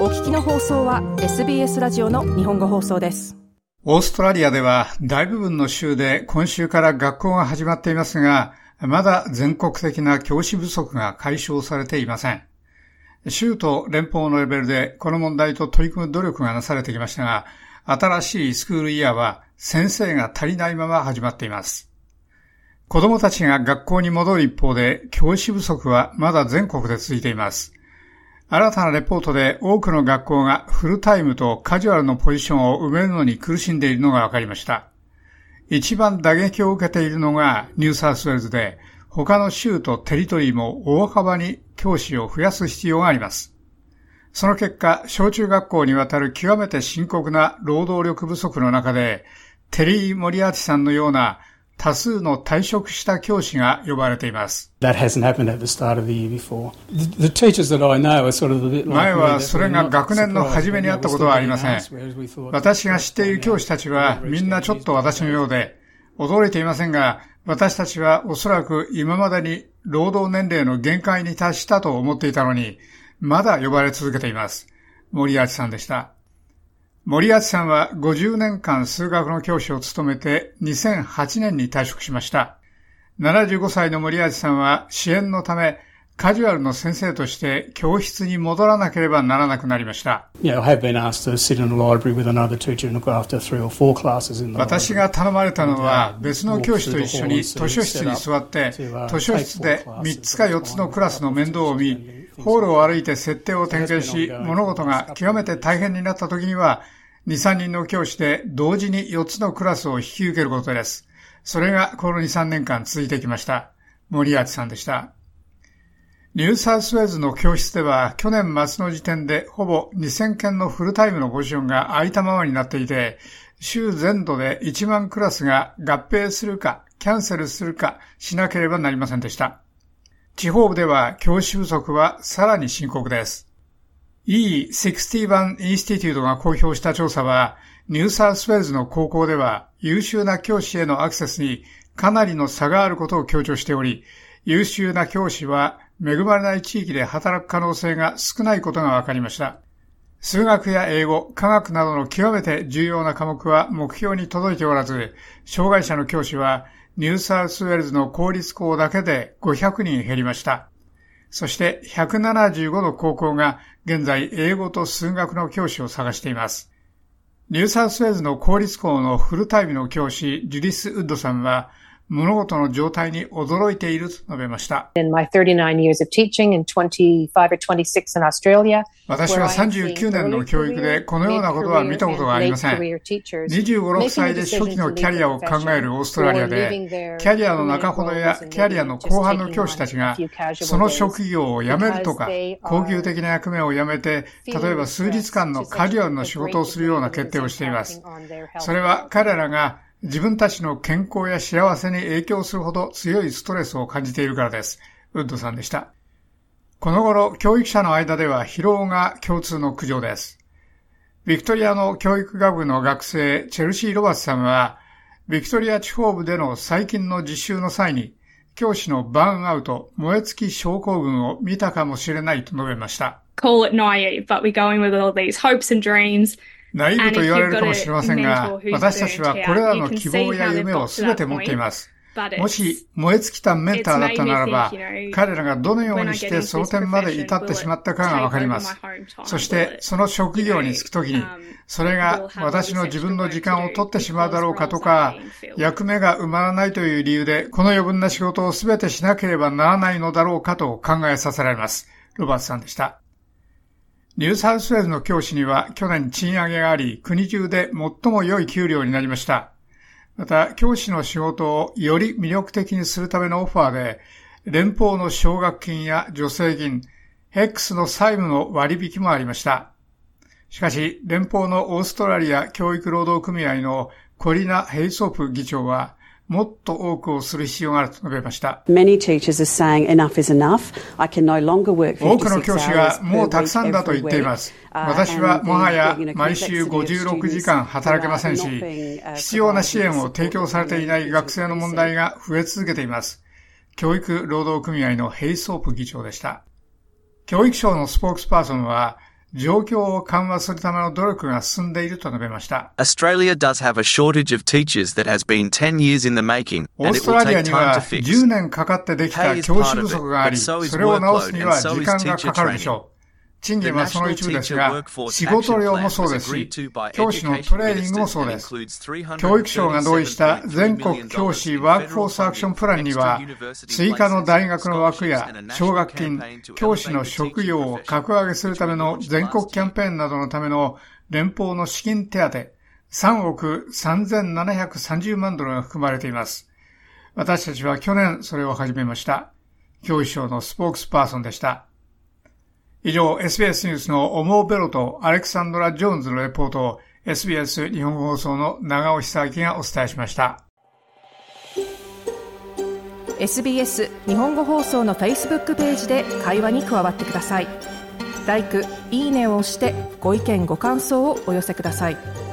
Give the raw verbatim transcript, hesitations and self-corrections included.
お聞きの放送は エスビーエス ラジオの日本語放送です。 オーストラリアでは大部分の州で今週から学校が始まっていますが、まだ全国的な教師不足が解消されていません。州と連邦のレベルでこの問題と取り組む努力がなされてきましたが、新しいスクールイヤーは先生が足りないまま始まっています。子供たちが学校に戻る一方で、教師不足はまだ全国で続いています。新たなレポートで多くの学校がフルタイムとカジュアルのポジションを埋めるのに苦しんでいるのが分かりました。一番打撃を受けているのがニューサウスウェールズで、他の州とテリトリーも大幅に教師を増やす必要があります。その結果、小中学校にわたる極めて深刻な労働力不足の中で、テリー・モリアーティさんのような多数の退職した教師が呼ばれています。前はそれが学年の初めにあったことはありません。私が知っている教師たちはみんなちょっと私のようで、驚いていませんが、私たちはおそらく今までに労働年齢の限界に達したと思っていたのに、まだ呼ばれ続けています。モリアーティさんでした。モリアーティさんはごじゅうねんかん数学の教師を務めてにせんはちねんに退職しました。ななじゅうごさいのモリアーティさんは支援のためカジュアルの先生として教室に戻らなければならなくなりました。私が頼まれたのは別の教師と一緒に図書室に座って図書室でみっつかよっつのクラスの面倒を見、ホールを歩いて設定を点検し、物事が極めて大変になった時にはに、さんにんの教師で同時によっつのクラスを引き受けることです。それがこのに、さんねんかん続いてきました。モリアーティさんでした。ニューサウスウェールズの教室では去年末の時点でほぼにせんけんのフルタイムのポジションが空いたままになっていて、州全土でいちまんクラスが合併するかキャンセルするかしなければなりませんでした。地方部では教師不足はさらに深刻です。イーろくじゅういち インスティテュートが公表した調査は、ニューサウスウェールズの高校では優秀な教師へのアクセスにかなりの差があることを強調しており、優秀な教師は恵まれない地域で働く可能性が少ないことが分かりました。数学や英語、科学などの極めて重要な科目は目標に届いておらず、障害者の教師はニューサウスウェールズの公立校だけでごひゃくにん減りました。そしてひゃくななじゅうごの高校が現在英語と数学の教師を探しています。ニューサウスウェールズの公立校のフルタイムの教師ジュディス・ウッドさんは物事の状態に驚いていると述べました。私はさんじゅうきゅうねんの教育でこのようなことは見たことがありません。にじゅうご、ろくさいで初期のキャリアを考えるオーストラリアで、キャリアの中ほどやキャリアの後半の教師たちが、その職業を辞めるとか、高級的な役目を辞めて、例えば数日間のカジュアルな仕事をするような決定をしています。それは彼らが自分たちの健康や幸せに影響するほど強いストレスを感じているからです。ウッドさんでした。この頃、教育者の間では疲労が共通の苦情です。ビクトリアの教育学部の学生、チェルシー・ロバーツさんは、ビクトリア地方部での最近の実習の際に、教師のバーンアウト、燃え尽き症候群を見たかもしれないと述べました。 Call it naive, but we're going with all these hopes and dreams. ナイーブと言われるかもしれませんが、私たちはこれらの希望や夢をすべて持っています。もし燃え尽きたメンターだったならば、彼らがどのようにしてその点まで至ってしまったかがわかります。そしてその職業に就くときに、それが私の自分の時間を取ってしまうだろうかとか、役目が埋まらないという理由で、この余分な仕事をすべてしなければならないのだろうかと考えさせられます。ロバーツさんでした。ニューサウスウェールズの教師には去年賃上げがあり、国中で最も良い給料になりました。また、教師の仕事をより魅力的にするためのオファーで、連邦の奨学金や助成金、ヘックスの債務の割引もありました。しかし、連邦のオーストラリア教育労働組合のコリナ・ヘイソープ議長は、もっと多くをする必要があると述べました。多くの教師がもうたくさんだと言っています。私はもはや毎週ごじゅうろくじかん働けませんし、必要な支援を提供されていない学生の問題が増え続けています。教育労働組合のヘイソープ議長でした。教育省のスポークスパーソンは、 状況を緩和するための努力が進んでいると述べました。 Australia does have a shortage of teachers that has been ten years in the making, オーストラリアにはじゅうねんかかってできた教師不足があり、それを直すには時間がかかるでしょう。賃金はその一部ですが、仕事量もそうですし、教師のトレーニングもそうです。教育省が同意した全国教師ワークフォースアクションプランには、追加の大学の枠や奨学金、教師の職業を格上げするための全国キャンペーンなどのための連邦の資金手当、さんおくさんぜんななひゃくさんじゅうまんドルが含まれています。私たちは去年それを始めました。教育省のスポークスパーソンでした。以上、エスビーエス ニュースのオモーベロとアレクサンドラ・ジョーンズのレポートを エスビーエス 日本語放送の長尾久明がお伝えしました。 エスビーエス 日本語放送の Facebook ページで会話に加わってください。ライク、いいねを押してご意見ご感想をお寄せください。